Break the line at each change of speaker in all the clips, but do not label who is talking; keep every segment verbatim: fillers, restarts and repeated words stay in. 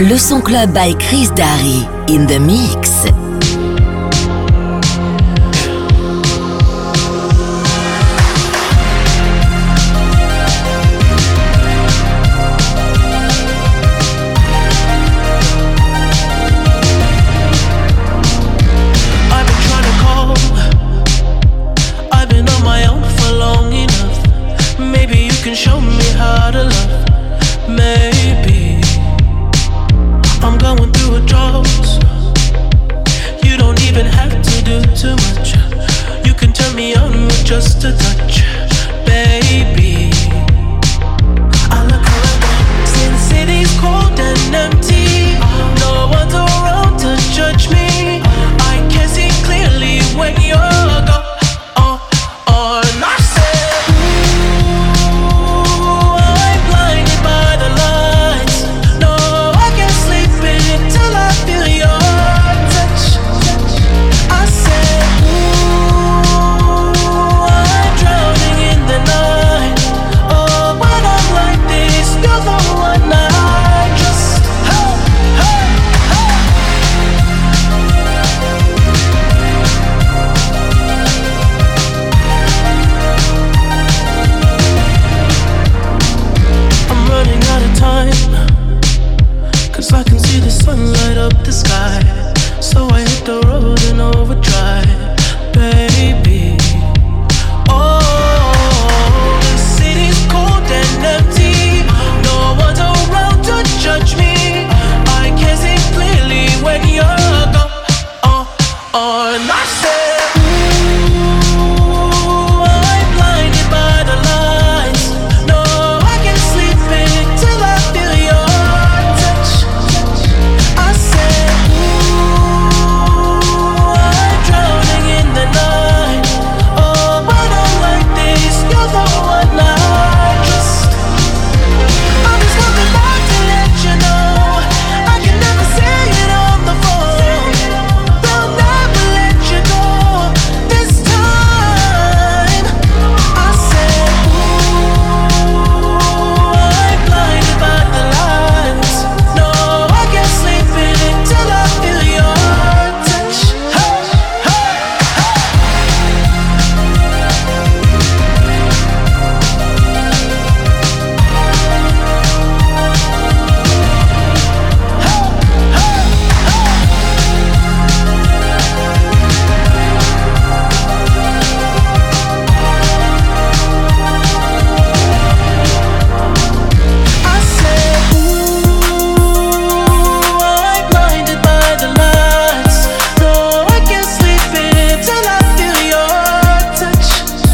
Le son club by Chris Darry in the mix.
Just a touch, baby. I look around, since city's cold and empty, no one's around to judge me. I can see clearly when you're gone. Oh, oh, and I said, ooh, I'm blinded by the lights. No, I can't sleep until I feel your touch. I said, ooh, drowning in the night. Oh, when I'm like this, you're the one I just. Hey, hey, hey. I'm running out of time, 'cause I can see the sun light up the sky. So I hit the road in overdrive, baby. Oh, the city's cold and empty. No one's around to judge me. I can see clearly when you're gone. Oh, oh, and I said, ooh, I'm blinded by the lights. No, I can't sleep until I feel your touch. I said, ooh, I'm drowning in the night. Oh, when I'm like this, you're the one I trust. I'm just coming back to let you know I can never say it on the phone. They'll never let you go this time. I said, ooh, I'm blinded by the lights. No, I can't sleep until I feel your touch. Hey, hey, I said, ooh, I'm blinded by the lights. No, I can't sleep until I feel your touch.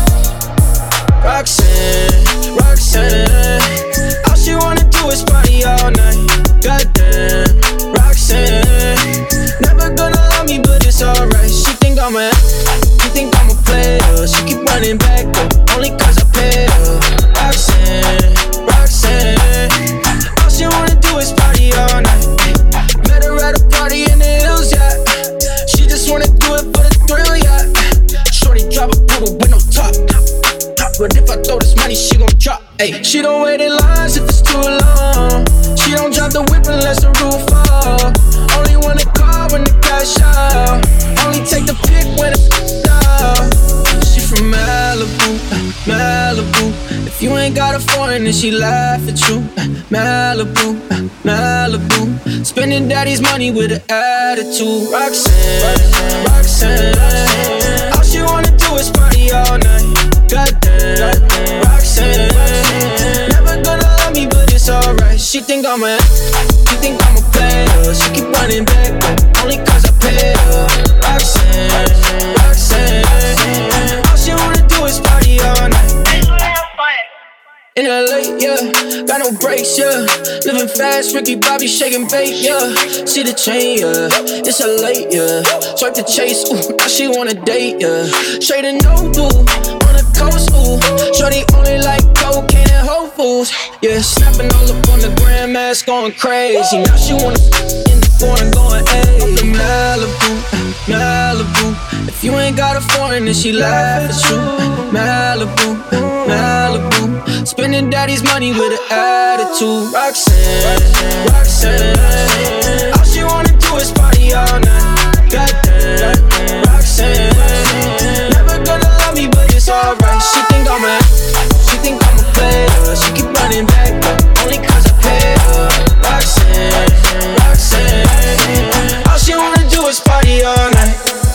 Roxanne, Roxanne, all she wanna do is party all night. Goddamn, Roxanne, never gonna love me, but it's alright. She think I'm a, she think I'm a player. She keep running back though, only 'cause I pay her. Roxanne, Roxanne, all she wanna do is party all night. Met her at a party in the hills, yeah. She just wanna do it for the thrill, yeah. Shorty drop a poodle with no top. But if I throw this money, she gon' drop. Ay, she don't wait in lines if it's too long. She don't drop the whip unless the roof fall. Only wanna call when the cash out. Only take the pic when it's down. She from Malibu, Malibu. If you ain't got a foreign, then she laugh at you. Malibu, Malibu. Spending daddy's money with an attitude. Roxanne, Roxanne, all she wanna do is party all night. Goddamn, Roxanne, never gonna love me, but it's alright. She think I'm a, she think I'm a player. She keep running back, only 'cause I pay her. Roxanne, Roxanne, all she wanna do is party all night. In L A, yeah, got no brakes, yeah. Living fast, Ricky Bobby shaking bait, yeah. See the chain, yeah, it's a late, yeah. Swipe the chase, ooh, now she wanna date, yeah. Straight and no boo, on the coast, ooh. Shorty only like cocaine and Whole Foods, yeah. Snapping all up on the grandmas, going crazy. Now she wanna in the foreign, going A. Up in Malibu, Malibu. If you ain't got a foreign, then she laugh at you. Malibu, Malibu. Spending daddy's money with an attitude. Roxanne, Roxanne, all she wanna do is party all night. Goddamn, Roxanne, never gonna love me, but it's alright. She think I'm a, she think I'm a player. She keep running back, only cause I pay her. Roxanne, Roxanne, all she wanna do is party all night.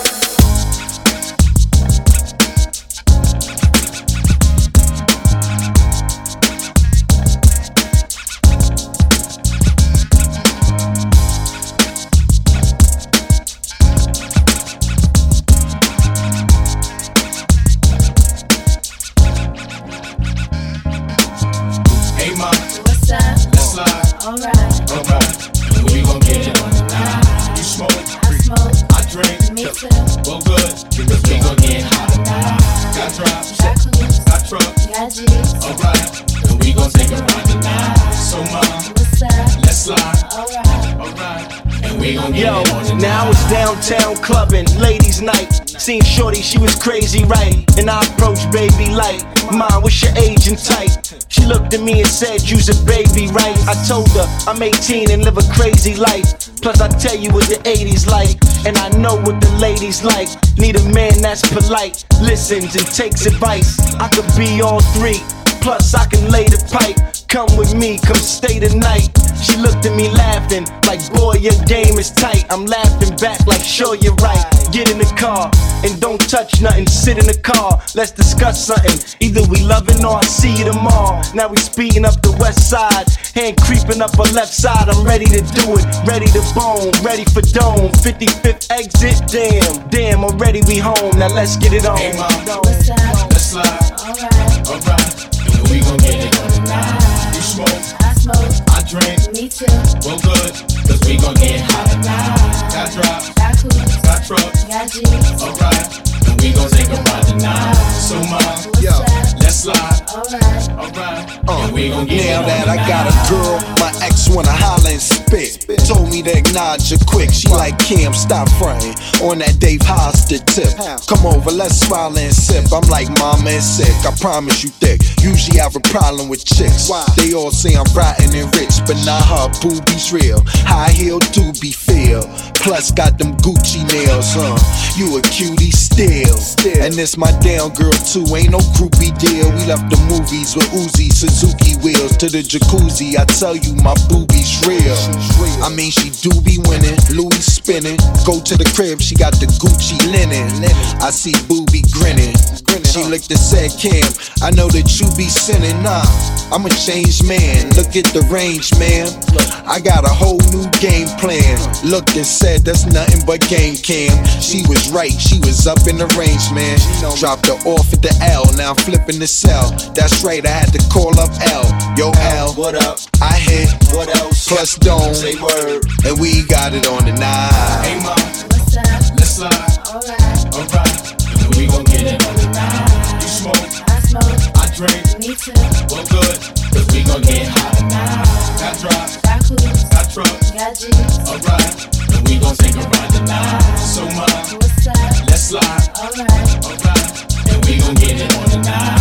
Yo, now it's downtown clubbing, ladies' night. Seen shorty, she was crazy, right? And I approached baby like, Mom, what's your age and type? She looked at me and said, you's a baby, right? I told her, I'm eighteen and live a crazy life. Plus I tell you what the eighties like, and I know what the ladies like. Need a man that's polite, listens and takes advice. I could be all three, plus I can lay the pipe. Come with me, come stay the night. She looked at me laughing, like boy your game is tight. I'm laughing back like sure you're right. Get in the car, and don't touch nothing. Sit in the car, let's discuss something. Either we loving or I see you tomorrow. Now we speeding up the west side, hand creeping up her left side. I'm ready to do it, ready to bone, ready for dome. fifty-fifth exit, damn, damn, already we home. Now let's get it on.
Hey mom, what's up? Let's slide. Alright, alright, and we gon' get it on tonight. You smoke, I smoke, I drink, me too. Well good, cause we gon' get hot tonight. Got drops, got coops, got trucks, got G's. Alright, and we gon' take a ride tonight. So mom, yo, let's slide. Alright, alright, uh, and we gon' get
now
it on
that
tonight.
I got a girl, my ex wanna holler and spit. Told me to acknowledge her quick. She like, Cam, stop frontin' on that Dave Hosted tip. Come over, let's smile and sip. I'm like, mama is sick, I promise you thick. Usually have a problem with chicks. They all say I'm rotten and rich, but nah, her boobies real. High heel doobie feel. Plus got them Gucci nails, huh? You a cutie still. And this my down girl too, ain't no groupie deal. We left the movies with Uzi, Suzuki wheels to the jacuzzi. I tell you my boobies real. I mean she do be winning, Louis spinning. Go to the crib, she got the Gucci linen. I see Boobie grinning. She looked and said, Cam, I know that you be sinning. Nah, I'm a changed man. Look at the range, man. I got a whole new game plan. Looked and said, that's nothing but game, Cam. She was right, she was up in the range, man. Dropped her off at the L, now I'm flipping the cell. That's right, I had to call up L. Yo, L, what up? I hit, what else? Plus Dome, say word, and we got it on the night.
Hey mom, what's up? Let's slide. Alright, alright, and we gon' get it on the night. You smoke, I smoke, I drink, me too. Well good, cause we gon' get hot tonight. Got drops, got coops, got trucks, got G's. Alright, and we gon' take a ride tonight. So mom, what's up? Let's slide. Alright, alright, and we gon' get it on the night.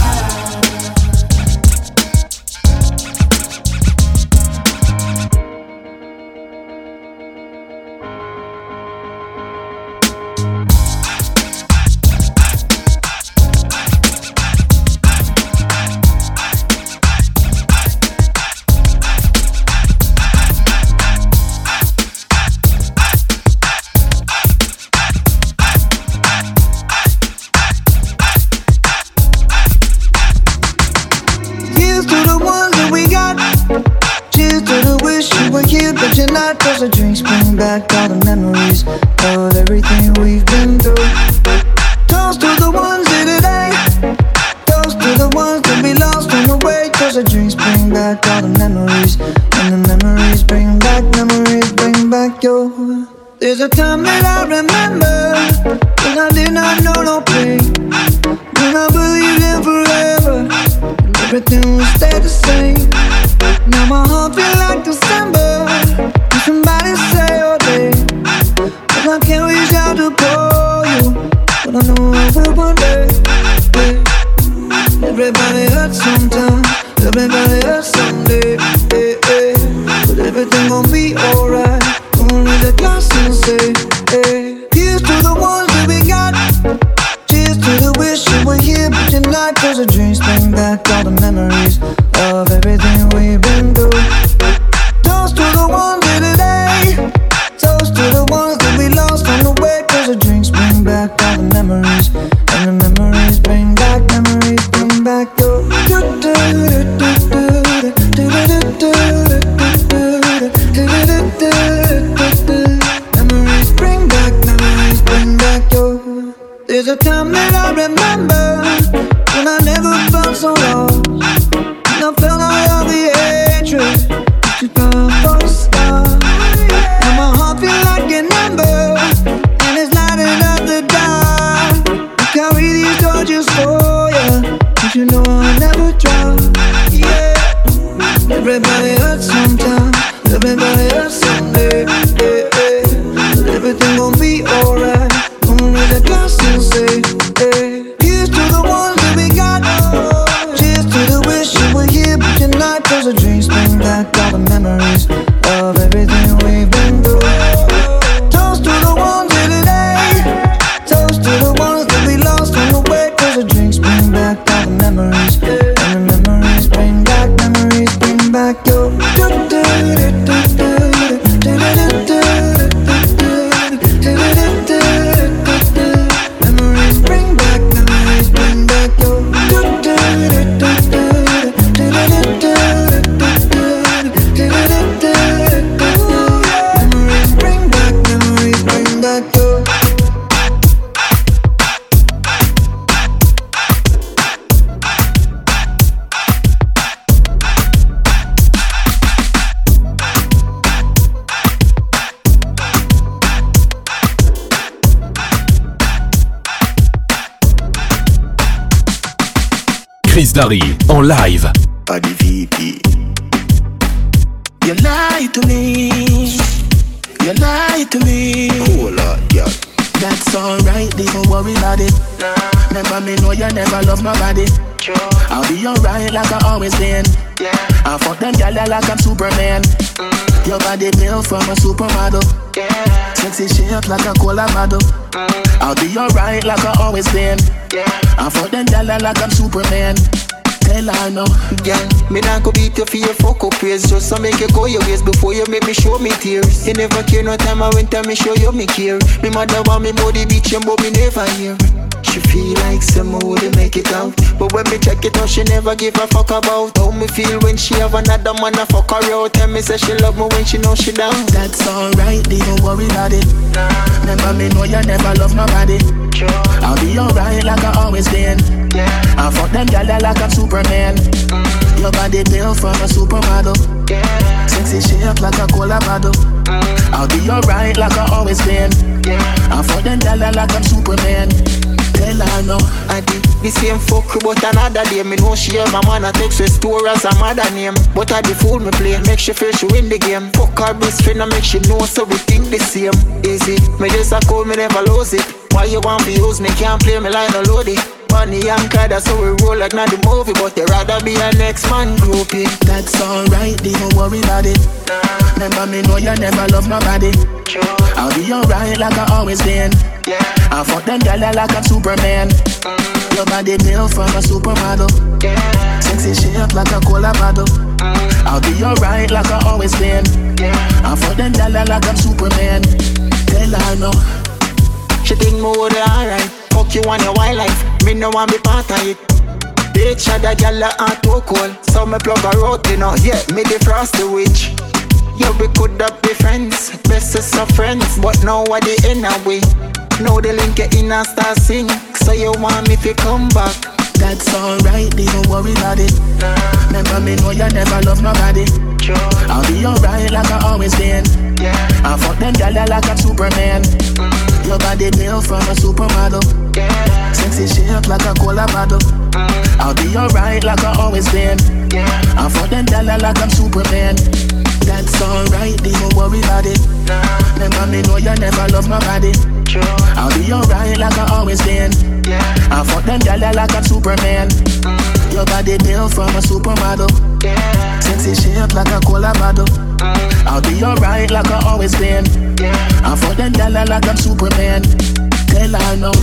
But you're not, cause the drinks bring back all the memories of everything we've been through. Toast to the ones here today. Toast to the ones that we lost on the way. Cause the drinks bring back all the memories. And the memories bring back, memories bring back your. There's a time that I remember when I did not know no pain, when I believed in forever and everything would stay the same. Now my heart feel like December. Can somebody say your name? But I can't reach out to call you, but I know I will one day. Everybody hurts sometimes. Everybody hurts someday, eh, eh. But everything gon' be alright. Only the glass and say, eh. Here's to the ones that we got. Cheers to the wish you were here, but you're not. Cause the dreams bring back all the memories of everything we've been through. Toast to the ones in today. Toast to the ones that we lost on the way. Cause the drinks bring back all the memories. And the memories bring back, memories bring back your memories bring back, memories bring back your. There's a time that I remember when I never felt so lost, and I felt all of the hatred that you thought was stars. Now my heart feel like an ember, and it's lighting up the dark. I carry these torches for you, cause you know I'll never drop. Yeah. Everybody hurts sometimes, everybody hurts someday, yeah, yeah. But everything gon' be alright. Only the glass will say, hey. Here's to the ones that we got. Cheers to the wish you were here, but you're not. Cause the dreams bring back all the memories of everything we've been through. Toast to the ones in today. Toast to the ones that we lost on the way. Cause the drinks bring back all the memories. And the memories bring back, memories bring back your.
Chris Darry en live.
Body V P. You lie to me. You lie to me.
Cool out, yeah.
That's alright, don't worry about it. Nah. Remember me know you never love nobody. True. I'll be alright like I always been. Yeah. I fuck them gyal like I'm Superman. Mm. Your body built from a supermodel. Yeah. Sexy shape like a cola model. Mm. I'll be alright like I always been. Yeah. I fuck them gyal like I'm Superman. Tell her no.
Yeah, me not go beat you for your fuck up ways. Just to make you go your ways before you make me show me tears. You never care no time I went and me show you me care. Me mother want me body beat you but me never hear. She feel like some would make it out, but when me check it out, she never give a fuck about how me feel when she have another man a fuck her out. Tell me say she love me when she know she down.
That's alright, don't worry about it. Nah. Remember me know you never love nobody. Sure. I'll be alright like I always been. Yeah. I fuck them gyal like I'm Superman. Mm. Your body built from a supermodel. Yeah. Sexy shape like a cola bottle. Mm. I'll be alright like I always been. Yeah. I fuck them gyal like I'm Superman. Tell her no.
I did the same fuck but another day. Me know she have a man a text with store as a mother name. But I the fool me play, make she feel she win the game. Fuck her best friend and make she know so we think the same. Easy, me just a call me never lose it. Why you want to use me, can't play me like no loadie. Money and car, that's how we roll like not the movie. But you rather be a next man groupie.
That's alright, don't worry about it. Nah. Remember me know you never love nobody. Sure. I'll be alright like I always been. Yeah. I fuck them gyal like I'm Superman. Mm. Your body built from a supermodel. Yeah. Sexy shape like a cola bottle. Mm. I'll be alright like I always been. Yeah. I fuck them gyal like I'm Superman. Tell her no.
She think me would alright. Fuck you on your wildlife. Me no want be part of it. Bitch had a gyal a too cold, so me plug her out, you know. Yeah, me the frosty witch. Yeah, we could have be friends, bestest of friends, but now what the end of we. Now the link get in and start sing. So you want me to come back?
That's alright, don't worry about it. Nah. Remember me know you never love nobody. Sure. I'll be alright like I always been. Yeah. I fuck them gyal like I'm Superman. Mm. Your body built from a supermodel. Yeah. Sexy shape like a cola bottle. Mm. I'll be alright like I always been. Yeah. I fuck them gyal like I'm Superman. That's alright, don't worry about it. Nah. Remember me know you never love nobody. Sure. I'll be alright like I always been. Yeah. I fuck them gyal like I'm Superman. Mm. Your body built from a supermodel.
Yeah.
Sexy shape like a cola bottle. Mm. I'll be alright like I always been. Yeah. I'm for them gyal like I'm Superman. Tell her no.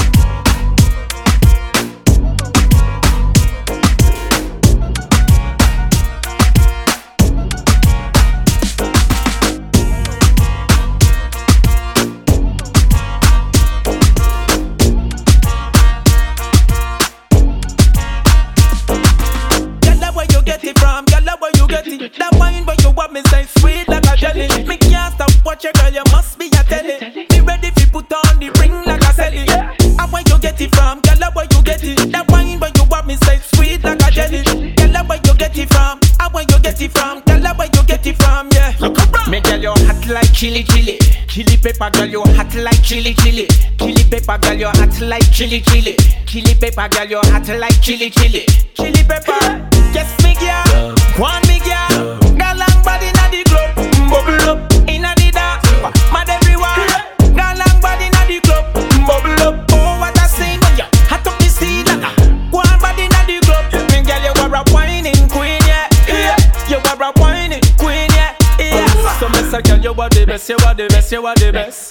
That wine where you want me say sweet like a jelly. Me can't stop watch your girl, you must be a telly. Be ready if you put on the ring like a celly. And where you get it from, girl, where you get it. That wine where you want me say sweet like a jelly. Girl, where you get it from, and where you get it from, girl, where you get it from, yeah. Me girl, you hot like chili chili. Chili pepper, girl, you hot like chili chili. Chili pepper, girl, you hot like chili chili. Chili pepper, girl, you hot like chili chili. Chili pepper, yes me girl, one me girl. Girl long body inna the club, bubble up inna the dance, mad everyone. Girl long body inna the club, bubble up. Oh what a scene when you hot up the scene like a one body inna the club. Me girl you are a whining queen, yeah, yeah. You are a whining queen, yeah, yeah. So me say girl you are the best, you are the best, you are the best.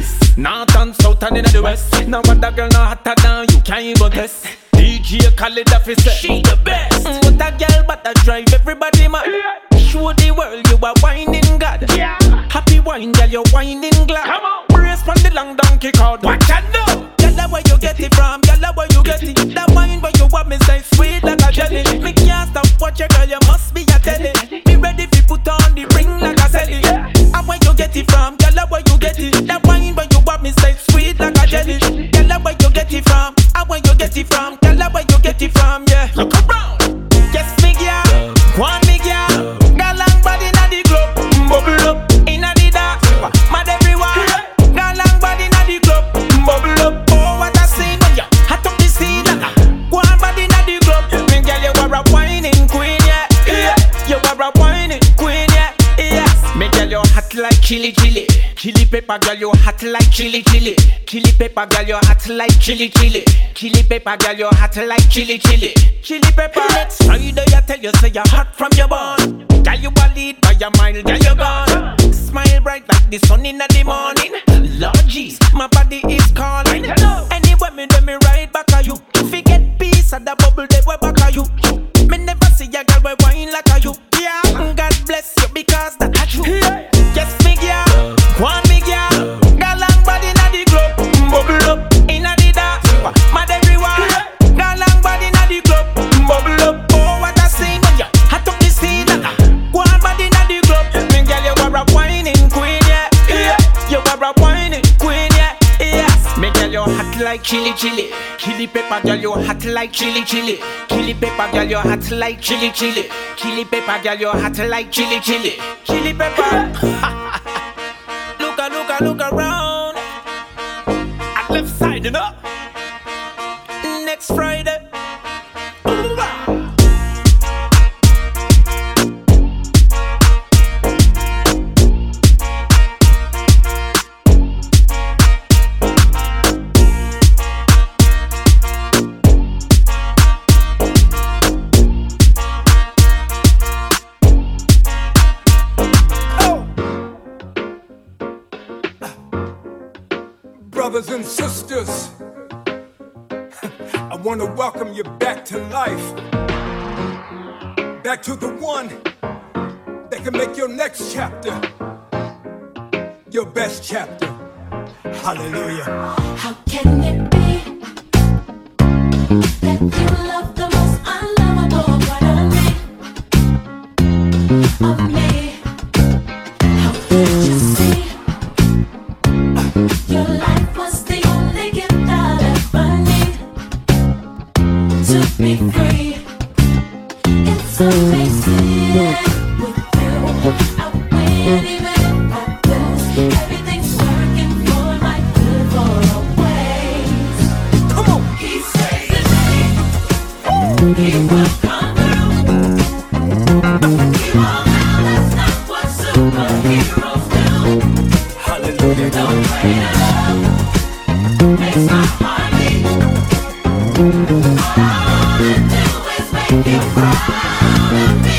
North and south and inna the west. Now what a girl not hotter than you can't even test. D J Khaled officer, she the best. Mm, what a girl but a drive everybody mad. Show the world you are whining God. Yeah. Happy wine girl you whining glad. Come on. Brace from the long donkey cord. What you know? Girl where you get it from, girl where you get it. That wine where you want me say sweet like a jelly. Me can't stop watch your girl, you must be a telly. Be ready if you put on the ring like a celly. And where you get it from, girl where you get it. That wine where you want me say sweet like a jelly. Girl where you get it from, and where you get it from, girl where you get it from, yeah. Look around, yes me girl, one me girl. Girl long body inna the club, bubble up inna the dance, mad everyone. Girl long body inna the club, bubble up. Oh what a scene when you hot up the scene like a one body inna the club. Me girl you are a whining queen, yeah, yeah. You are a whining queen, yeah, yes. Me girl you hot like chili chili. Chili pepper girl you hot like chili chili. Chili pepper girl you hot like chili chili. Chili pepper girl you hot like chili chili. Chili pepper next Friday I tell you say you hot from your born. Girl you a lead by your mile, girl you gone. Smile bright like the sun in the morning. Lord jeez, my body is calling. Anyway me do me right back at you. Forget peace at the bubble they way back at you. Me never see a girl we wine like a you. Yeah, God bless you because that's true. Yes me girl, one me girl. Girl long body inna the club, bubble up inna the dance, mad everyone. Girl long body inna the club, bubble up. Oh what a scene when you hot up the scene like a one body inna the club. Me girl you are a whining queen, yeah, yeah. You are a whining queen, yeah, yes. Me girl you hot like chili chili. Chili pepper girl you hot like chili chili. Chili pepper girl you hot like chili chili. Chili pepper girl you hot like chili chili. Chili pepper. Look a look a look around. At left side, you know. Next Friday.
Brothers and sisters, I want to welcome you back to life, back to the one that can make your next chapter your best chapter. Hallelujah.
How can it be that you love the most unlovable part of me, of me? How could you see your life was the only gift I'd ever need to be free? It's amazing with you. I win even if I lose. Everything's working for my good for always. Come on. He saves the day. He will come through. We all know that's not what superheroes do. Hallelujah. Don't pray to love makes my heart beat. All I wanna do is make you proud of me.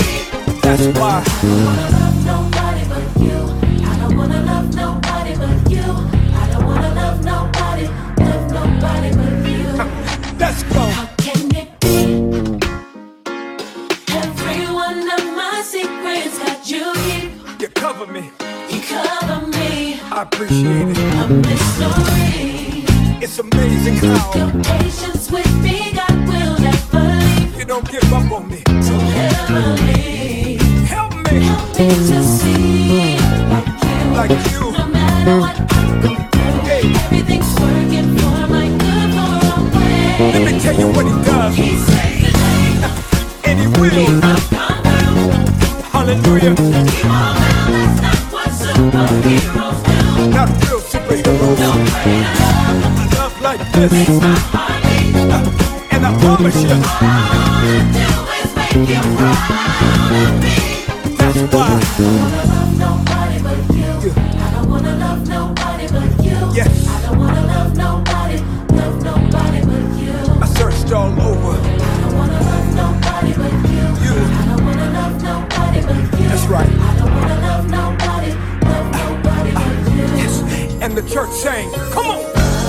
How can it be? Every one of my secrets got you here.
You cover me.
You cover me.
I appreciate it.
A mystery.
It's amazing how
your patience with me, God will never leave.
You don't give up on me.
So heavenly.
Help me.
Help me to see like you.
Like you.
No matter what I go through, hey. Everything's working for my good for always.
Let me tell you what he does.
He saves the day.
And he will.
He will come through.
Hallelujah.
Keep on around, that's not what superheroes do.
Not real superheroes.
No way to love.
A love like this.
Makes my heart beat.
Uh, and I promise you,
all I wanna do is make you proud of me.
That's why
I don't wanna love nobody but you. I don't wanna love nobody but you.
Yes.
I don't wanna love nobody, love nobody but you.
I searched all over.
I don't wanna love nobody but you.
You.
I don't wanna love nobody but you.
That's right.
I don't wanna love nobody, love nobody but you.
Yes. And the church sang, come on.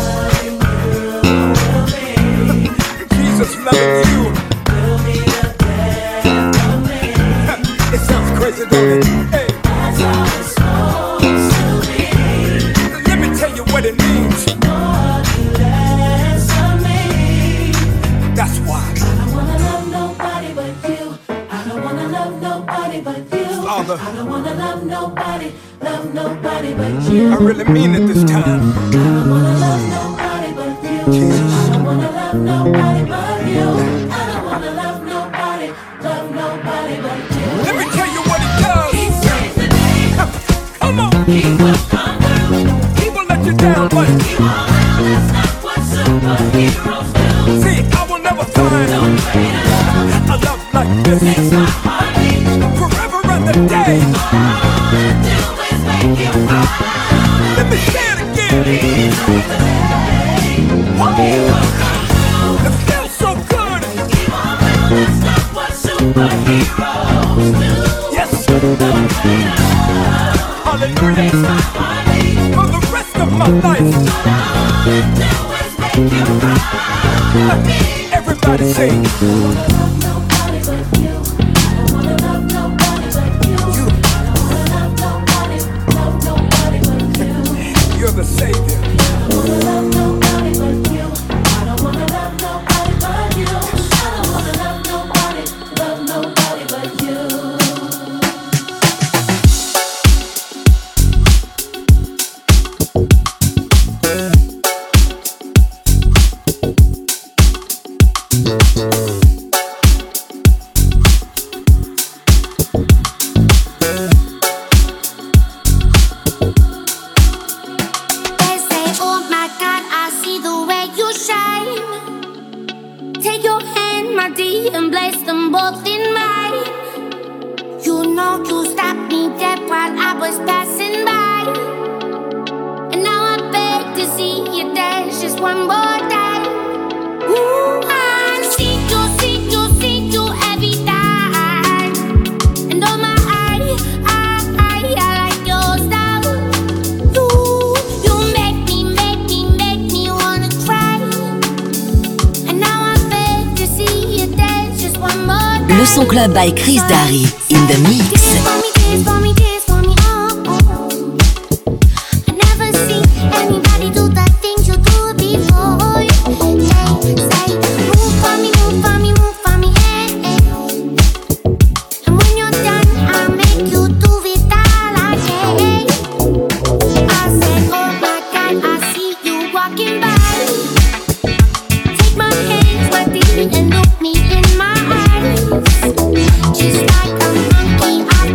Jesus loving you. It sounds crazy, don't it? Hey.
That's how it's supposed to be.
Let me tell you what it means.
More you less of me.
That's why.
I don't wanna love nobody but you. I don't wanna love nobody but you.
Father,
I don't wanna love nobody, love nobody but you.
I really mean it this time.
I don't wanna love nobody but you.
Jesus.
I don't wanna love nobody but you. I don't wanna love nobody, love nobody but you.
Let me tell you what he does.
He saves the day.
Come on.
He will come through.
He will let you down, but
He won't around, that's not what superheroes do.
see, I will never find
No way to love.
a love like this.
Makes my heart beat.
Forever and a day.
All I wanna do is make you proud.
Let me say it again.
He saves the day. He will come through.
It feels so good.
He won't around, that's not what superheroes do.
Yes.
No way to love.
Hallelujah.
Makes my heart beat.
For the rest of my life.
All I wanna do is make you proud of me.
Everybody sing.
I don't wanna love nobody but you. I don't wanna love nobody but you. I don't wanna love nobody, love nobody but you.
You're the Savior.
I don't wanna love nobody but you. I don't wanna love nobody but you. I don't wanna love nobody, love nobody but you.
They say, oh my God, I see the way you shine. Take your hand, my dear, and place them both in mine. You know you stopped me dead while I was passing by. And now I beg to see you dance just one more time. Ooh, I see you, see you, see you every time. And oh my, I, I, I, I like your style. You, you make me, make me, make me wanna cry. And now I beg to see you dance just one more time.
Le Son Club by Chris Darry in the mix.
Dance for me, dance for me, dance for me, oh, oh. I never see anybody do the things you do before. Say, say, move for me, move for me, move for me, eh, eh. And when you're done, I'll make you do it all again. I said, oh my God, I see you walking by. Take my hands, my dear, and look me in my eyes. Just like a monkey, I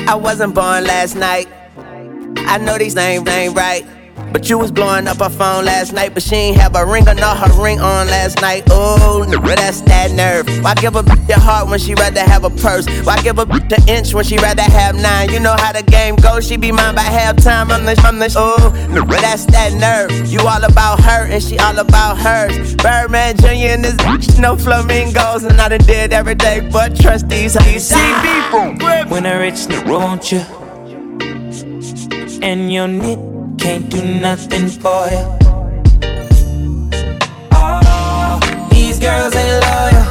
I wasn't born last night. I know these names ain't right. But you was blowing up her phone last night, but she ain't have a ring or not her ring on last night. Oh, that's that nerve. Why give a bitch your heart when she rather have a purse? Why give a bitch an inch when she rather have nine? You know how the game goes, she be mine by halftime. I'm the, I'm the, oh, that's that nerve. You all about her and she all about hers. Birdman Junior and this bitch, no flamingos. And I done did every day but trust these hoes. C B,
when a rich nigga want you and your nigga can't do nothing for you. Oh, these girls ain't loyal.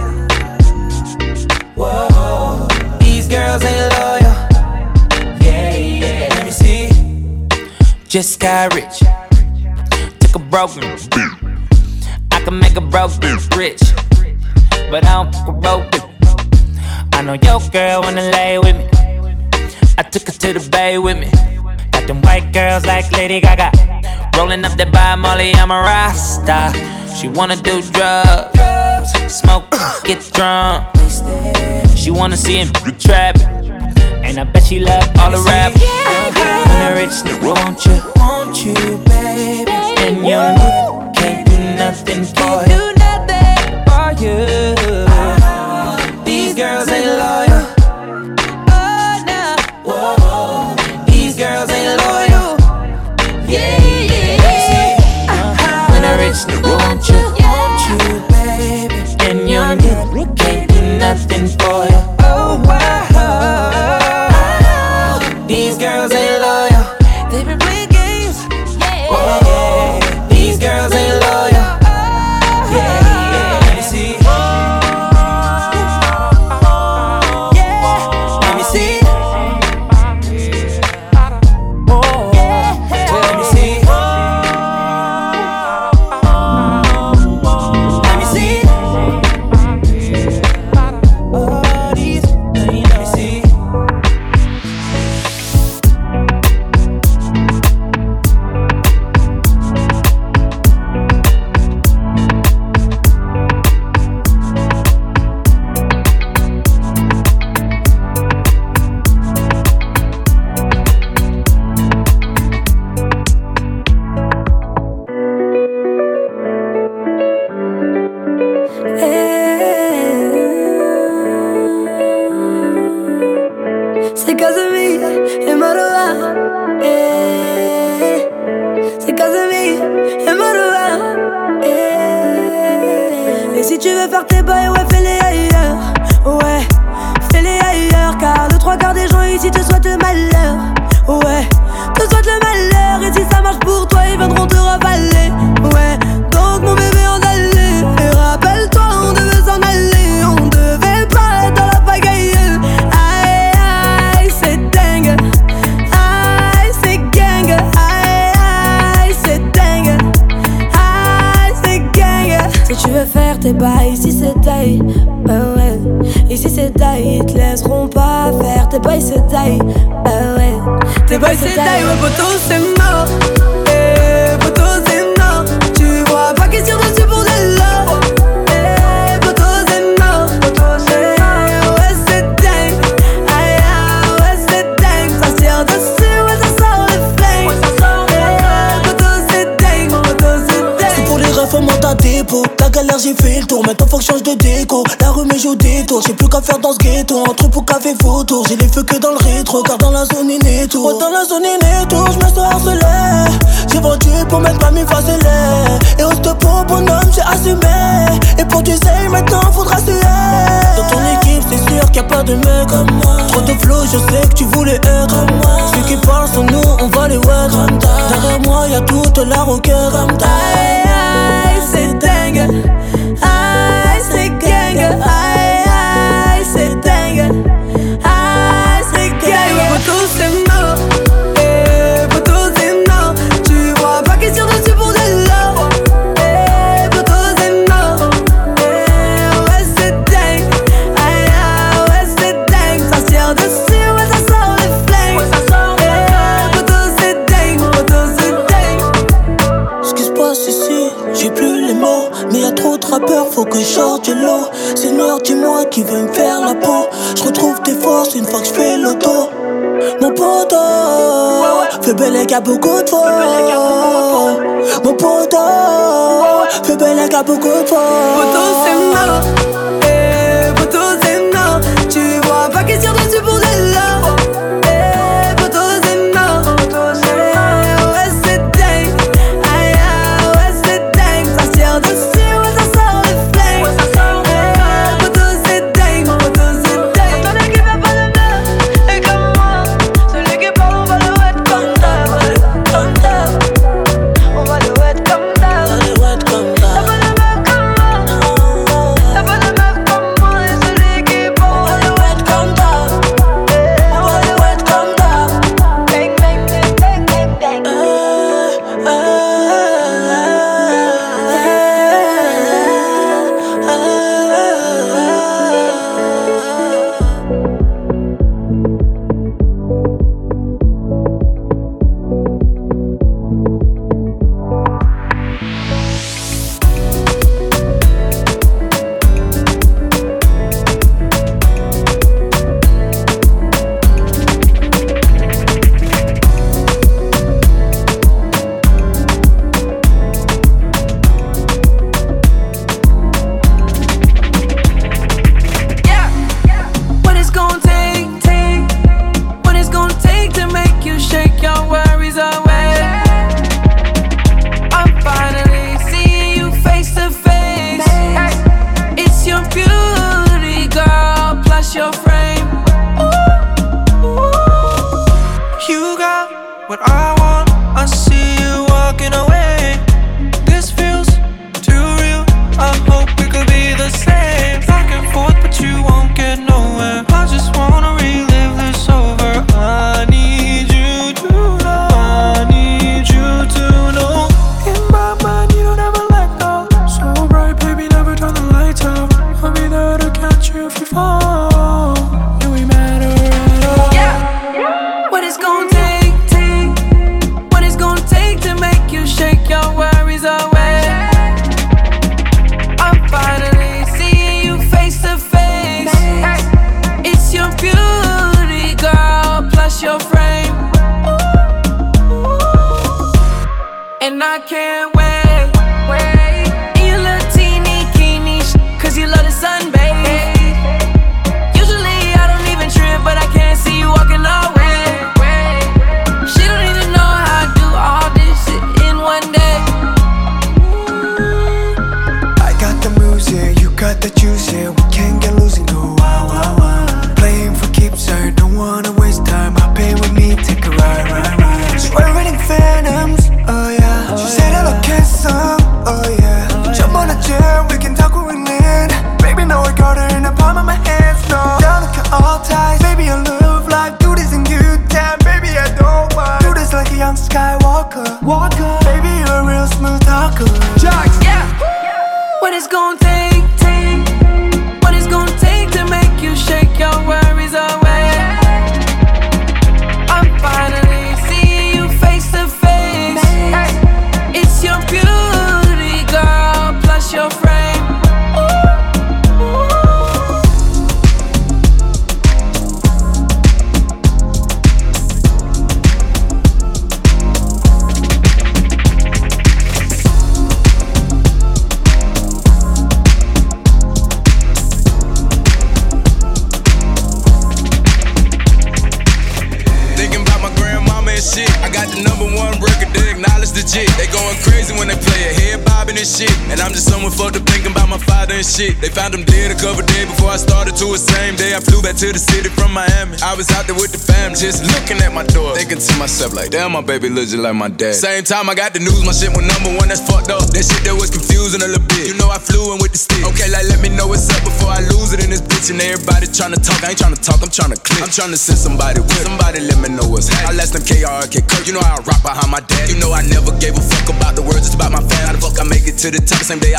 Whoa, these girls ain't loyal. Yeah, yeah. Let me see. Just got rich. Took a broken. I can make a broken rich, but I don't fuck a broken. I know your girl wanna lay with me. I took her to the bay with me. Them white girls like Lady Gaga, rolling up that by Molly, I'm a Rasta. She wanna do drugs, smoke, get drunk. She wanna see him trap, and I bet she love all the rap. When a rich nigga want you, want you, baby, and your nigga can't do nothing for you, nothing for you. These girls ain't loyal. Oh no, whoa. These girls ain't loyal. Yeah, yeah, yeah. When a rich nigga want you, want you, baby, and your nigga can't do nothing for you. Oh wow. These girls ain't loyal. They been playing games. Yeah, yeah. These girls ain't loyal. Yeah, yeah. Let me see. Yeah. Let me see.
J'ai fait le tour, maintenant faut que je change de déco. La rue me joue des tours, j'ai plus qu'à faire dans ce ghetto. Entre pour café photo, j'ai les feux que dans le rétro. Car dans la zone inéto, ouais, dans la zone inéto, je me sens harcelé. J'ai vendu pour mettre ma mi facile. Et au stop pour bonhomme, j'ai assumé. Et pour tu sais, maintenant faudra suer. Dans ton équipe, c'est sûr qu'il y a pas de mec comme moi. Trop de flow, je sais que tu voulais être comme moi. Ceux qui parlent sur nous, on va les wet. Derrière moi, y'a toute la rocker comme ta.
Aïe, aïe, c'est dingue. Aïe, c'est gang. Aïe, aïe, c'est dingue. Aïe, c'est gang. Poto, c'est mort. Eh, poto, c'est mort. Tu vois pas question dessus pour de l'or. Eh, poto, c'est mort. Eh, ouais, c'est dingue. Aïe, aïe, ouais, c'est dingue. Ça tire dessus, ouais, ça sort les flingues. Eh, poto, c'est dingue. Poto, c'est dingue.
Ce qui se passe ici flow. Mais y'a trop de rappeurs, faut que je sorte du lot. Seigneur, dis-moi qui veut me faire la peau. Je retrouve tes forces une fois que je fais l'auto. Mon poteau, fais belle qu'à beaucoup de fois. Mon poteau, fais belle qu'à beaucoup de fois.
Poteau c'est non, eh, poteau c'est non. Tu vois pas question dessus pour elle là. Eh, poteau c'est non, eh, ouais c'est dingue. Aïe aïe, ouais c'est dingue. Ça tire dessus, ouais ça sort le flame. Eh, poteau c'est dingue, poteau c'est dingue. Celui qui fait pas de bluff, et comme moi. Celui qui parle, on va le wet comme d'hab. Comme d'hab, on va le wet comme d'hab. On va le wet comme d'hab. T'as pas de meuf comme moi, t'as pas de meuf comme moi. Et celui qui parle, on va le wet comme d'hab. On va le wet comme d'hab. Bang bang bang bang bang bang. What it's gonna take, take. What it's gonna take to make you shake your worries away. I'm finally seeing you face to face. It's your beauty, girl, plus your frame. You got what I want. I see you walking away. This feels too real. I hope we could be the same. Back and forth, but you won't get nowhere. I just wanna relive this over. I need you to know. I need you to know. In my mind, you don't ever let go. So bright, baby, never turn the lights out. I'll be there to catch you if you fall. Do we matter at all? Yeah. What it's gonna take, take. What it's gonna take to make you shake your worries away. I'm finally seeing you face to face. It's your beauty, girl, plus your frame. And I can't wait, wait. In your little teeny bikini, cause you love the sun, baby. Usually I don't even trip, but I can't see you walking away. She don't even know how I do all this shit in one day.
I got the moves, yeah, you got the juice, yeah. We can't get loose and go wow, wow, wow. Playing for keeps, I don't wanna waste time. Hop in with me, take a ride, ride, ride. Swearing phantoms, oh yeah. She said I'll kiss some, oh yeah. Jump on a chair, we can talk when we land. Baby, now I got her in the palm of my hands, no. Down to cut all ties, baby, I love life. Do this in good time, baby, I don't mind. Do this like a young Skywalker, Walker. Baby, you're a real smooth talker. Jocks,
Yeah. What it's gonna take, take. What it's gonna take to make you shake your worries away. I'm finally seeing you face to face. It's your beauty, girl, plus your frame.
Thinking about my grandmama and shit. I got the number one record, they acknowledge the jit. They going crazy when they play it, head bobbing and shit. And I'm just someone fucked up thinking about my father and shit. They found him dead a couple days before I started to the same day. I flew back to the city from Miami. I was out there with the fam, just looking at my door, thinking to myself like, damn, my baby looks just like my dad. Same time I got the news, my shit went number one, that's fucked up. That shit that was confusing a little bit. You know I flew in with the stick. Okay, like let me know what's up before I lose it in this bitch. And everybody tryna talk, I ain't tryna talk, I'm tryna click. I'm tryna send somebody with, somebody let me know what's happening. I left them K R K Kirk, you know how I rock behind my dad. You know I never gave a fuck about the words, it's about my fam. How the fuck I make it to the top, same day I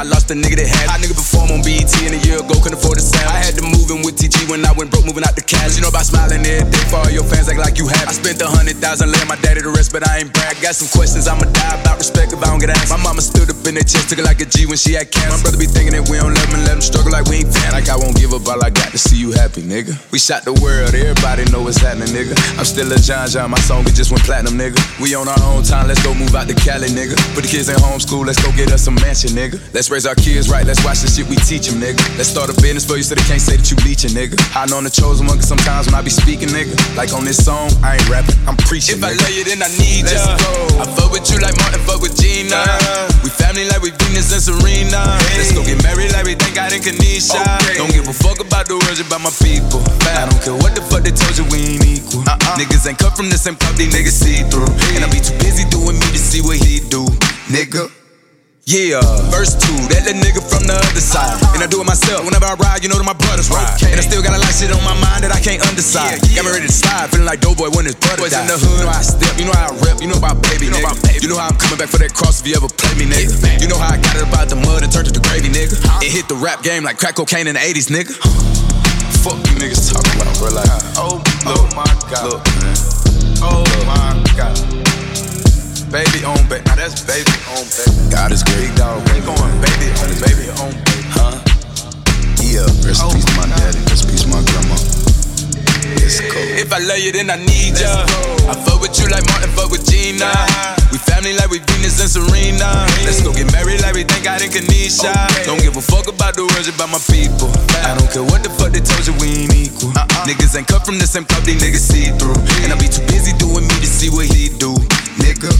lost a nigga that had. I nigga perform on B E T and a year ago couldn't afford a sound. I had to move in with T G when I went broke, moving out the cash. You know about smiling every day for all your fans, act like you have. I spent a hundred thousand laying my daddy to rest, but I ain't brag. Got some questions I'ma die about respect if I don't get asked. My mama stood up in that chest, took it like a G when she had cancer. My brother be thinking that we don't love him and let him struggle like we ain't fan. Like I won't give up, all I got to see you happy, nigga. We shot the world, everybody know what's happening, nigga. I'm still a John John, my song it just went platinum, nigga. We on our own time, let's go move out to Cali, nigga. Put the kids in homeschool, let's go get us some mansion, nigga. Let's raise our kids right, let's watch the shit we teach them, nigga. Let's start a business for you so they can't say that you leeching, nigga. I know I'm the chosen one, cause sometimes when I be speaking, nigga, like on this song, I ain't rapping, I'm preaching. If nigga. I love you, then I need ya. Let's go. I fuck with you like Martin, fuck with Gina. Uh, we family like we Venus and Serena. Hey. Let's go get married like we thank God in Kanisha. Okay. Don't give a fuck about the words about my people. I don't care what the fuck they told you, we ain't equal. Uh-uh. Niggas ain't cut from the same cup, these niggas see through. Hey. And I be too busy doing me to see what he do, nigga. Yeah, verse two, that little nigga from the other side. Uh-huh. And I do it myself, whenever I ride, you know that my brothers ride. Okay. And I still got a lot of shit on my mind that I can't undecide. Yeah, yeah. Got me ready to slide, feeling like Doughboy when his brother died. In the hood, you know how I step, you know how I rep, you know about baby, you know, about baby. You know how I'm coming back for that cross if you ever play me, nigga. Yeah, you know how I got it about the mud and turned it to gravy, nigga. Huh? It hit the rap game like crack cocaine in the eighties, nigga. Fuck you niggas talking about, bro, like, oh, oh my God, look, man. Oh my God. Baby on baby, now that's baby on baby. God is great, dog. Baby going baby on baby on baby, huh? Yeah, rest in peace to my daddy, rest in peace to my grandma. It's cool. If I love you, then I need ya. I fuck with you like Martin, fuck with Gina. We family like we Venus and Serena. Let's go get married like we thank God in Kanisha. Don't give a fuck about the words about my people. I don't care what the fuck they told you, we ain't equal. Niggas ain't cut from the same cup, these niggas see through. And I be too busy doing me to see what he do, nigga.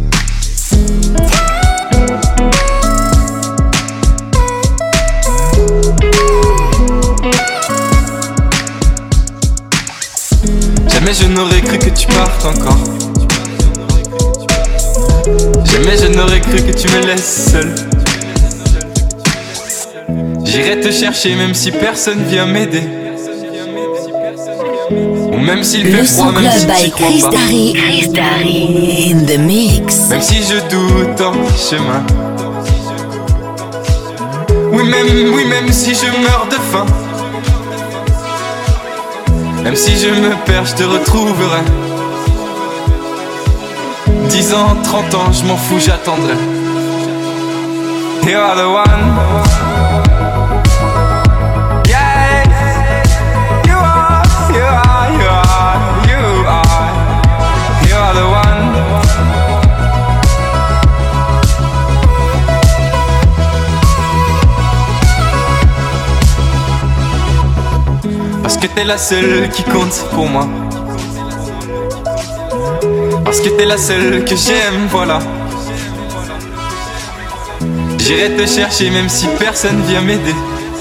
Jamais je n'aurais cru que tu partes encore. Jamais je n'aurais cru que tu me laisses seul. J'irai te chercher même si personne vient m'aider. Ou même s'il fait froid, même si tu crois
Chris
pas.
Darry, Chris Darry in the mix.
Même si je doute en chemin. Oui même, oui même si je meurs de faim. Même si je me perds, je te retrouverai. Dix ans, trente ans, je m'en fous, j'attendrai. You are the one. Yeah, you are, you are, you are, you are. You are the one. Parce que t'es la seule qui compte pour moi. Parce que t'es la seule que j'aime, voilà. J'irai te chercher même si personne vient m'aider.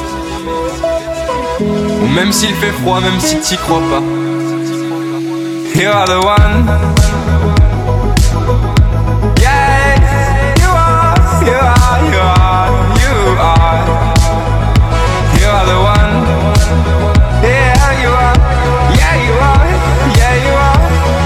Ou même s'il fait froid, même si t'y crois pas. You are the one. Yeah, you are, you are, you are, you are. You are the one. Yeah, you are, yeah, you are, yeah, you are.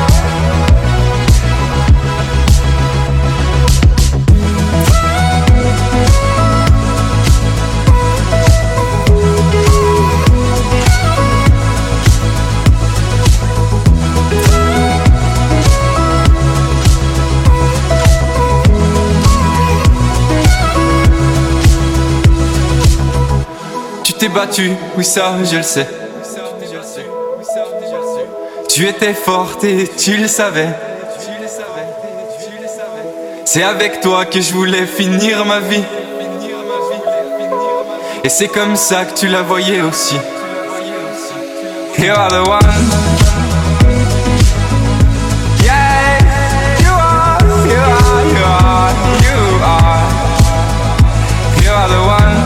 Tu t'es battu, oui ça je le sais. Tu étais forte et tu le savais. C'est avec toi que je voulais finir ma vie. Et c'est comme ça que tu la voyais aussi. You are the one. Yeah, you are, you are, you are, you are. You are the one.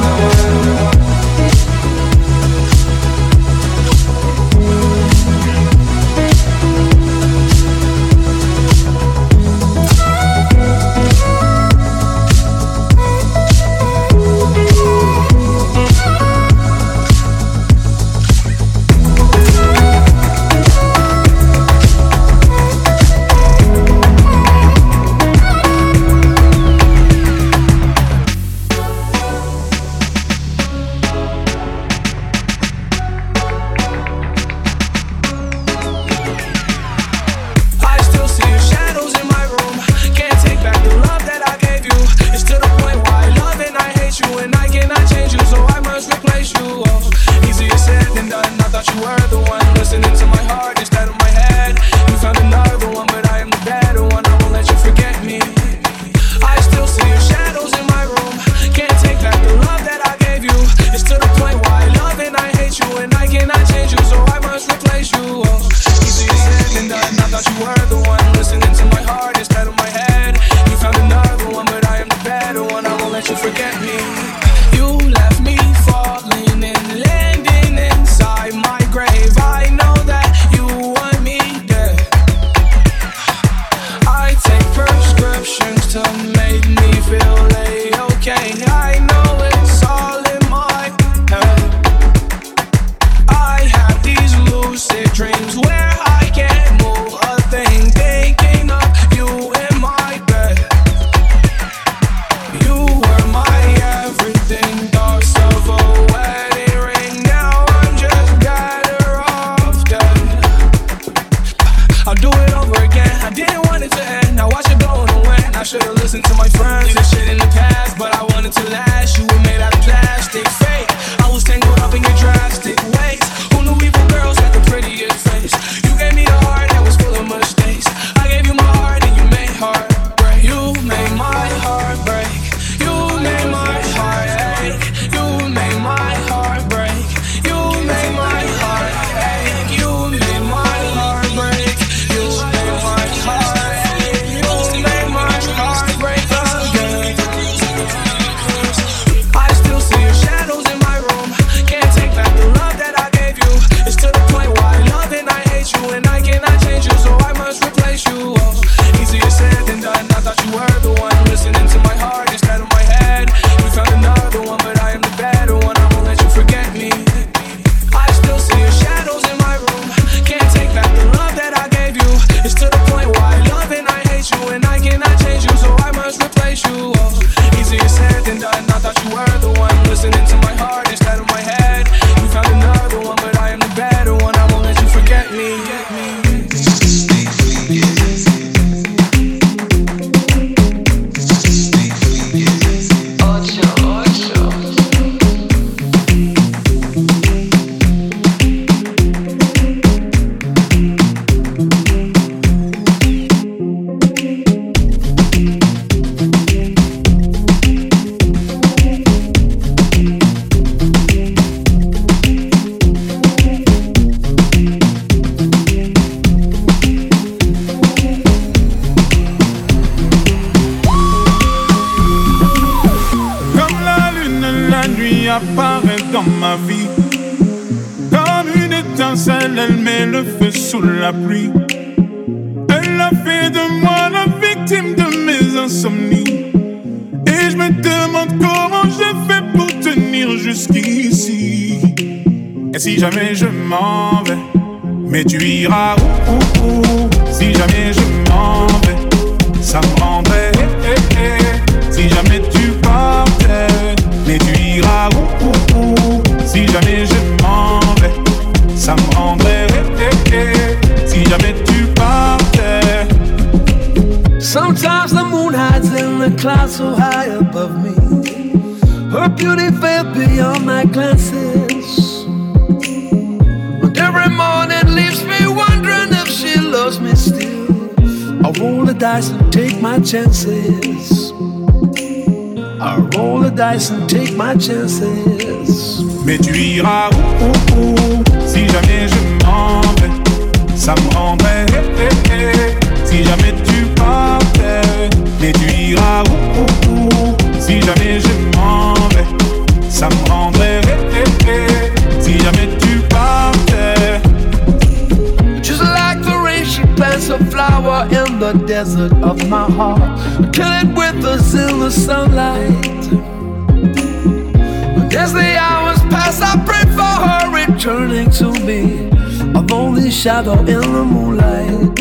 nuit apparaît dans ma vie. Comme une étincelle, elle met le feu sous la pluie. Elle a fait de moi la victime de mes insomnies. Et je me demande comment je fais pour tenir jusqu'ici. Et si jamais je m'en vais, mais tu iras où, où, où. Si jamais je m'en vais, ça me rendrait eh, eh, eh. Si jamais tu partais, mais tu iras où, où, où. Si jamais je m'en vais, ça me rendrait eh, eh, eh. Si jamais tu partais.
Sometimes the moon hides in the clouds so high above me. Her beauty fell beyond my glances. But every morning leaves me wondering if she loves me still. I roll the dice and take my chances. I roll the dice and take my chances.
Mais tu iras où, où, où. Si jamais je m'en vais, ça me rendrait eh, eh, eh. Si jamais tu partais, mais tu iras où, où, où. Si jamais je m'en vais, ça me rendrait eh, eh, eh. Si jamais tu partais.
Just like the rain, she plants a flower in the desert of my heart, till it withers in the sunlight. But as the hours pass, I pray for her returning to me, a lonely shadow in the moonlight.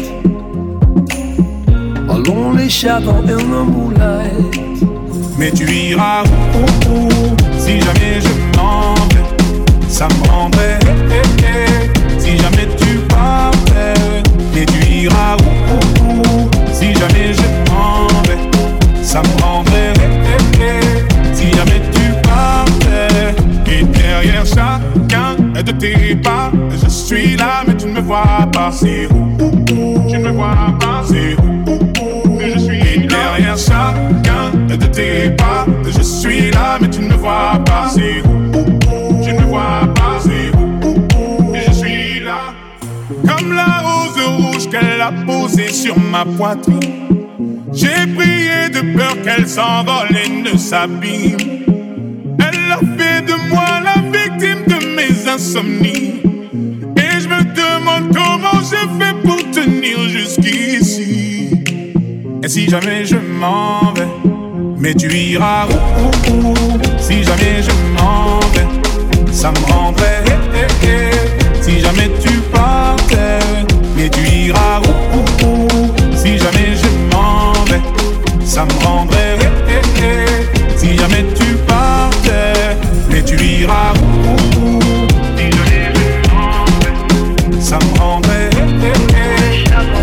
A lonely shadow in the moonlight.
Mais tu iras où, où, où. Si jamais je m'en vais, ça me rendrait eh, eh, eh. Si jamais tu partais, mais tu iras où, où, où. Si jamais je m'en vais, ça me rendrait eh, eh, eh. Si jamais tu partais. Et derrière chacun de tes pas, je suis là mais tu ne me vois pas. C'est où, où, où. Tu ne me vois pas. C'est où, où, où. Je suis et derrière chacun de tes pas, je suis là mais tu ne me vois pas. C'est où, où, où. Tu ne me vois pas. C'est où, où, où. Je suis là. Comme la rose rouge qu'elle a posée sur ma poitrine, j'ai prié de peur qu'elle s'envole et ne s'abîme. Elle a fait de moi la victime de mes insomnies. Et je me demande comment je fais pour tenir jusqu'ici. Et si jamais je m'en vais, mais tu iras où, où, où. Si jamais je m'en vais, ça me rendrait eh, eh, eh. Si jamais tu partais, mais tu iras où, où, où. Si jamais je m'en vais, ça me rendrait eh, eh, eh. Si jamais tu partais, mais tu iras où, où, où. Si jamais je m'en vais, ça me rendrait eh, eh, eh.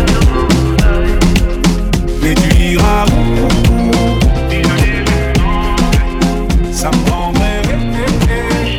Mais tu iras où, où, où. Si jamais je m'en vais, ça me rendrait eh, eh, eh.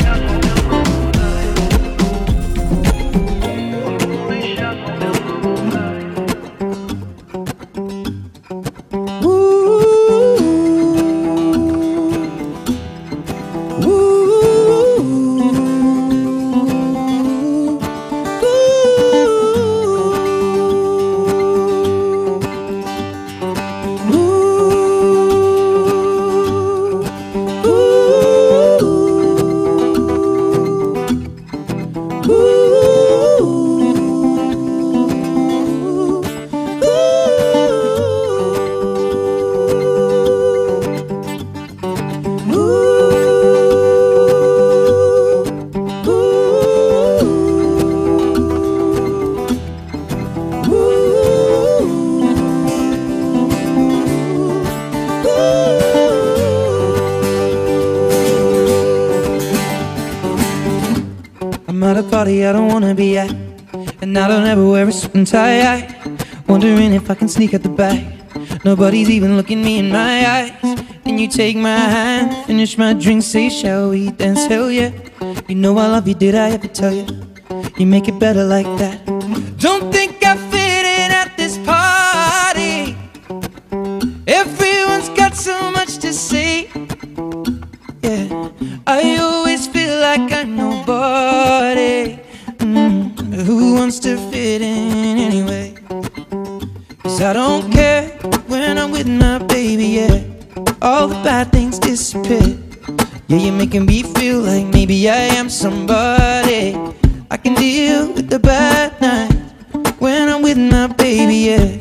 at a party I don't wanna be at, and I don't ever wear a suit and tie. Wondering if I can sneak at the back. Nobody's even looking me in my eyes. Then you take my hand, finish my drink, say shall we dance? Hell yeah. You know I love you, did I ever tell you? You make it better like that. Don't think I fit in at this party. Everyone's got so much to say. Yeah, I always feel like I'm nobody. mm, Who wants to fit in anyway? 'Cause I don't care when I'm with my baby, yeah. All the bad things disappear. Yeah, you're making me feel like maybe I am somebody. I can deal with the bad night when I'm with my baby, yeah.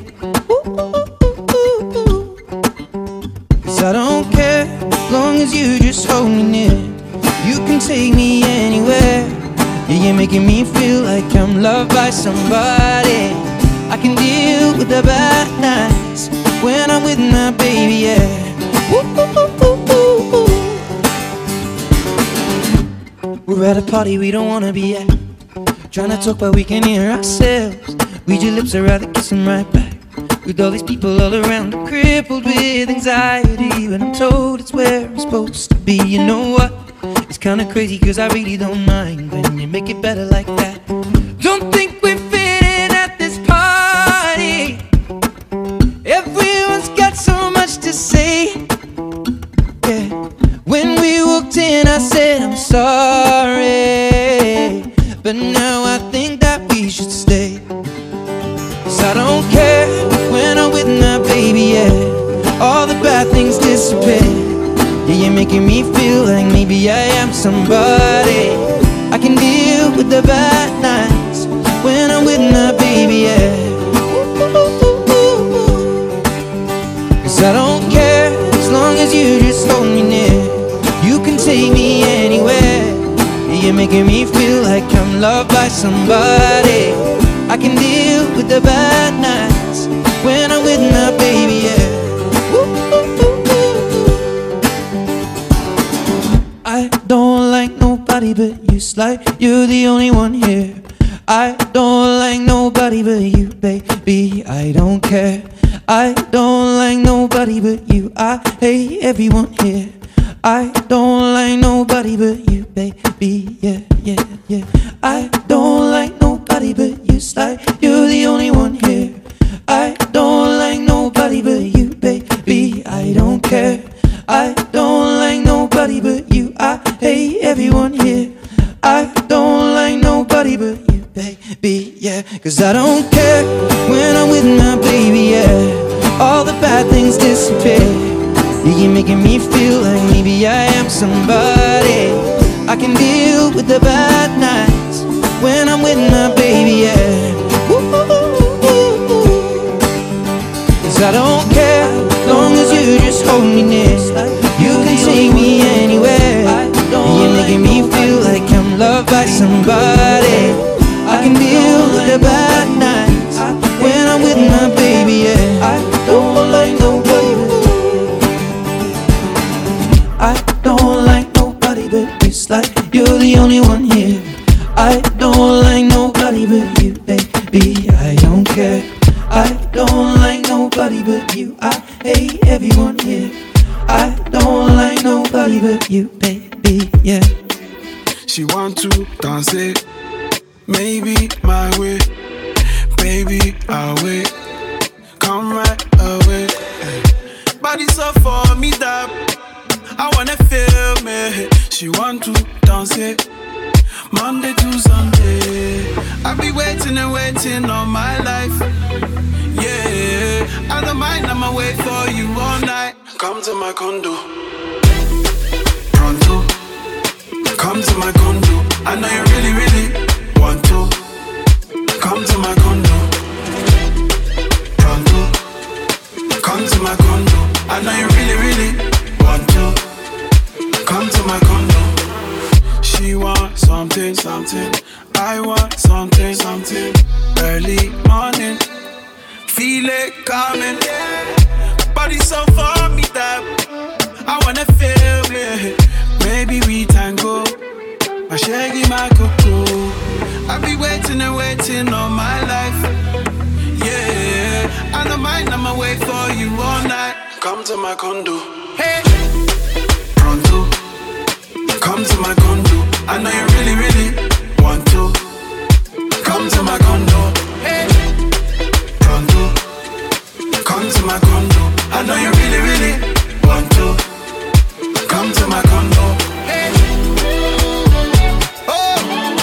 Cause I don't care, as long as you just hold me near. You can take me anywhere. Yeah, you're making me feel like I'm loved by somebody. I can deal with the bad nights when I'm with my baby, yeah. We're at a party we don't wanna be at, trying to talk but we can hear ourselves. Read your lips, I'd rather kiss them right back. With all these people all around, I'm crippled with anxiety, but I'm told it's where I'm supposed to be. You know what? It's kinda crazy cause I really don't mind when you make it better like that. Don't think we fit in at this party. Everyone's got so much to say. Yeah. When we walked in I said I'm sorry, but now I think that we should stay. Cause I don't care when I'm with my baby, yeah. All the bad things disappear. Yeah, you're making me feel like maybe I am somebody. I can deal with the bad nights when I'm with my baby, yeah. Cause I don't care, as long as you just hold me near. You can take me anywhere. Yeah, you're making me feel like I'm loved by somebody. I can deal with the bad nights when I'm with my baby, yeah. I don't like nobody but you, like you're the only one here. I don't like nobody but you, baby, I don't care. I don't like nobody but you, I hate everyone here. I don't like nobody but you, baby, yeah, yeah, yeah. I don't like nobody but you, like you're the only one here. I don't like nobody but you, baby, I don't care. I don't like nobody but you, I hate everyone here. I don't like nobody but you, baby, yeah. Cause I don't care when I'm with my baby, yeah. All the bad things disappear. Yeah, you're making me feel like maybe I am somebody. I can deal with the bad nights when I'm with my baby, yeah. Cause I don't care, long as you just hold me near. You can take me anywhere. You're making me feel like I'm loved by somebody. I can deal with the bad nights when I'm with my baby, yeah. I don't like nobody but I don't like nobody but you, like you're the only one here. I don't like nobody but you, baby, I don't care. I don't like nobody but you, I hate everyone here. I don't like nobody but you, baby, yeah.
She want to dance it, maybe my way. Baby, I'll wait, come right away. Body so for me that I wanna feel me. She want to dance it, Monday to Sunday. I'll be waiting and waiting all my life. Yeah, I don't mind, I'ma wait for you all night. Come to my condo, pronto. Come to my condo. I know you really, really want to. Come to my condo, pronto. Come to my condo. I know you really, really want to. Come to my condo. She want something, something. I want something, something. Early morning, feel it coming. Body so for me that I wanna feel it. Maybe we tango, my shaggy, my cocoa. I'll be waiting and waiting all my life. Yeah, I don't mind, I'ma wait for you all night. Come to my condo, hey, pronto. Come to my condo. I know you really, really want to. Come to my condo, hey, pronto. Come to my condo. I know you really, really want to. Come to my condo, hey. Oh,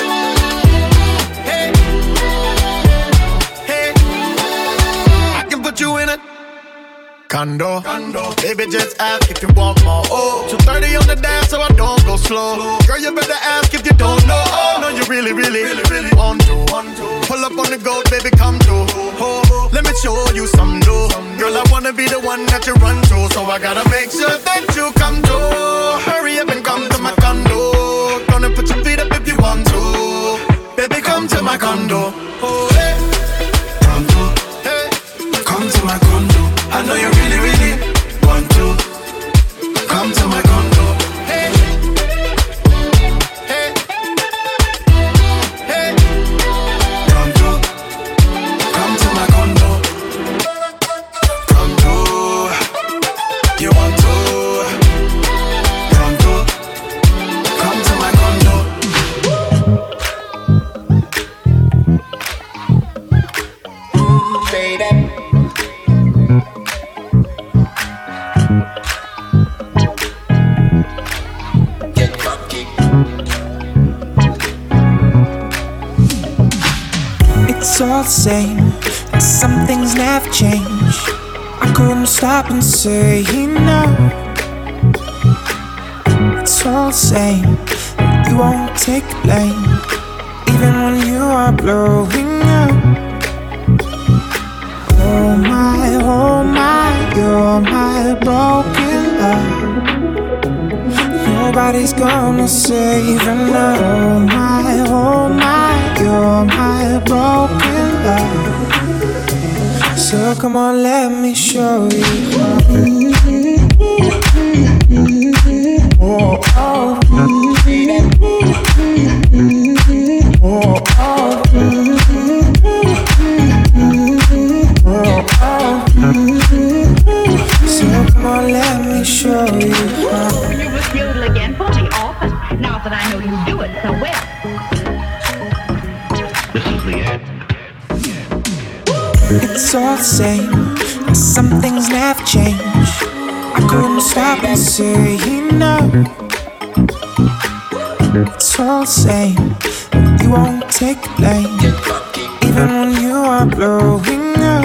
hey, hey. I can put you in a
condo. condo. Baby, just ask if you want more. Oh, two thirty on the dash, so I don't go slow. Girl, you better ask if you don't know. Oh, no, you really, really, really, really want to. Pull up on the goat, baby, come through. Oh, let me show you some dough. Girl, I wanna be the one that you run to, so I gotta make sure that you come through. Hurry up and come to my condo. Gonna put your feet up if you want to. Baby, come to my condo. Oh, hey. Condo. Hey. Come to my condo. I know you really, really want to. Come to my condo. Hey. Hey. Hey. Condo. Come to my condo. Condo. You want to. Condo. Come to my condo. Baby.
It's all the same, and some things never change. I couldn't stop and say no. It's all the same, and you won't take the blame, even when you are blowing up. Oh my, oh my, you're my broken love. Nobody's gonna save enough. Oh my, oh my, you're my broken love. So come on, let me show you. Oh, oh. Oh, oh. Oh, oh. So come on, let me show you.
You was yodel again for the office. Now that I know you do it so well.
This is the end.
It's all the same, and some things never change. I couldn't stop and say no. It's all the same, and you won't take the blame, even when you are blowing up.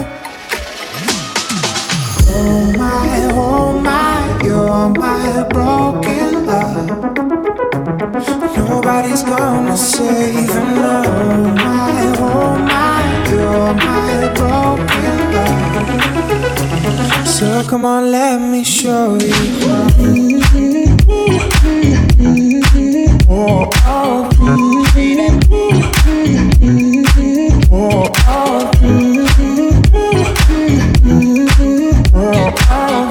Oh my, oh my, you're my broken love. Nobody's gonna save enough. Oh my, oh my, you're my broken love. So come on, let me show you. Oh, oh. Oh, oh. Oh, oh.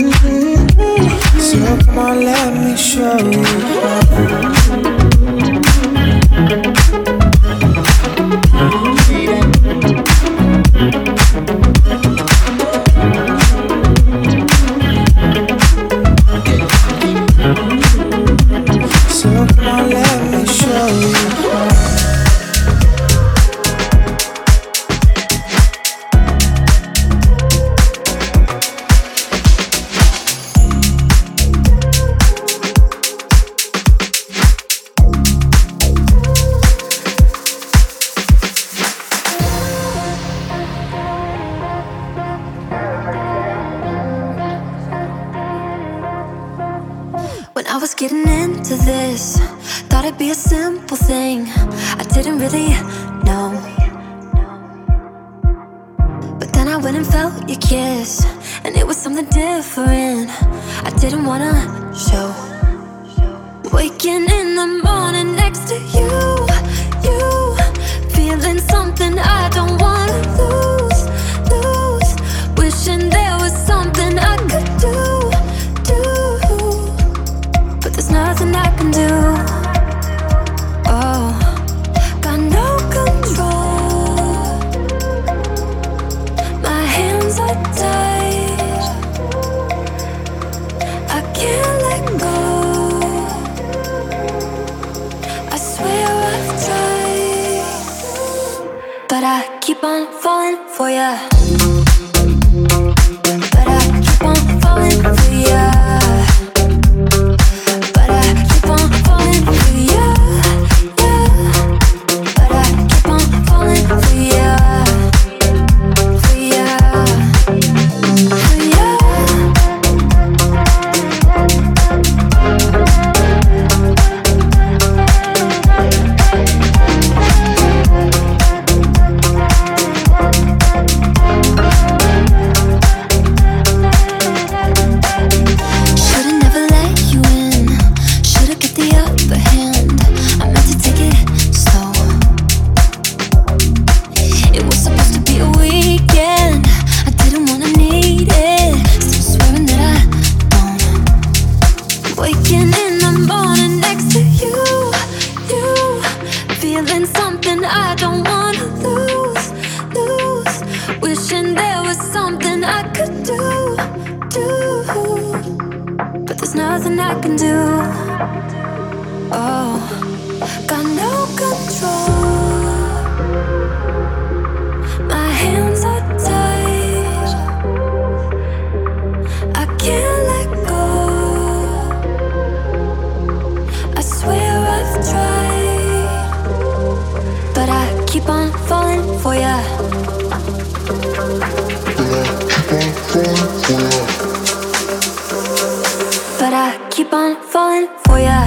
So come on, let me show you. So come on, let me show you.
I was getting into this, thought it'd be a simple thing. I didn't really know, but then I went and felt your kiss, and it was something different. I didn't wanna show. Waking in the morning next to you, you feeling something I don't wanna lose, lose. Wishing there was something I could do, do. There's nothing I can do. Oh, got no control. My hands are tied. I can't let go. I swear I've tried, but I keep on falling for ya. But I keep on falling for ya.
For you.
I could do, do, but there's nothing I can do. Oh, got no control. My hands are tied. I can't let go. I swear I've tried, but I keep on falling for ya. But I keep on falling for ya.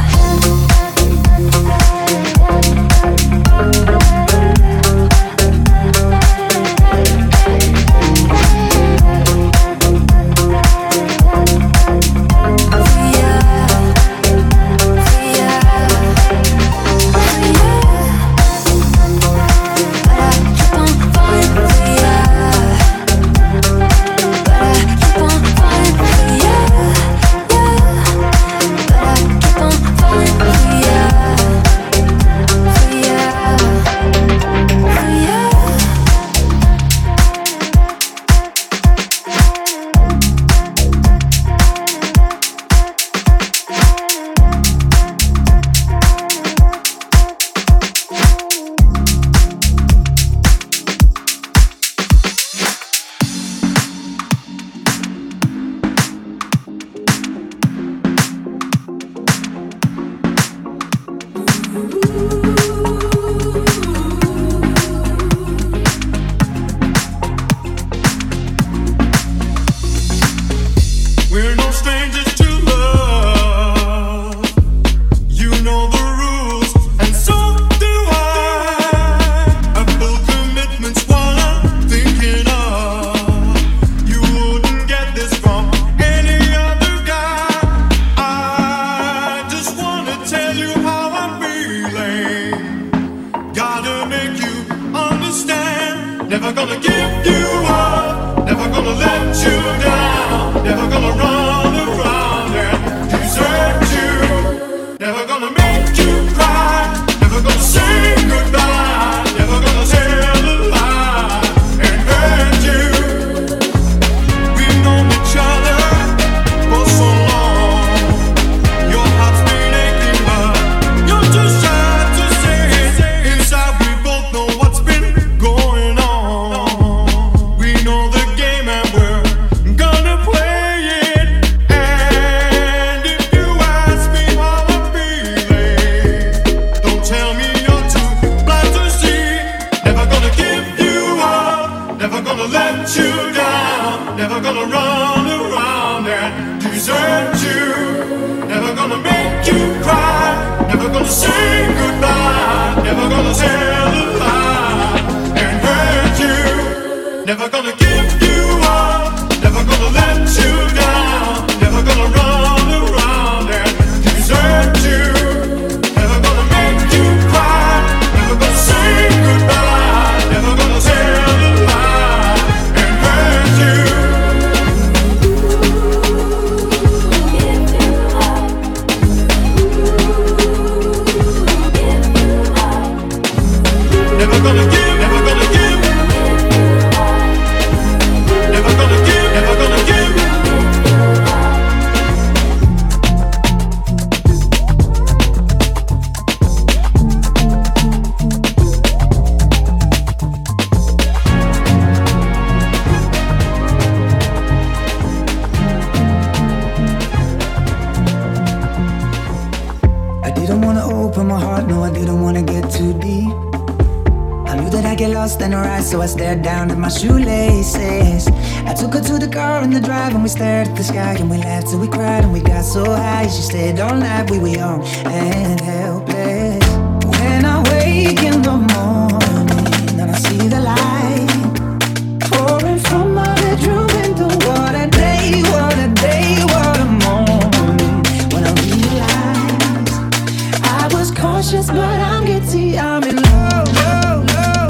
So I stared down at my shoelaces. I took her to the car in the drive and we stared at the sky and we laughed till we cried and we got so high. She stayed all night, we were young and helpless. When I wake in the morning and I see the light pouring from my bedroom window, what a day, what a day, what a morning. When I realized I was cautious but I'm guilty, I'm in love, love, love.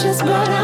precious, but I